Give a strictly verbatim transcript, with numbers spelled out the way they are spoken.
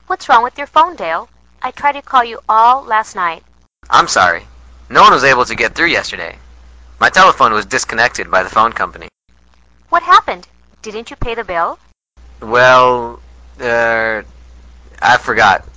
What's wrong with your phone, Dale? I tried to call you all last night. I'm sorry. No one was able to get through yesterday. My telephone was disconnected by the phone company. What happened? Didn't you pay the bill? Well, uh, I forgot.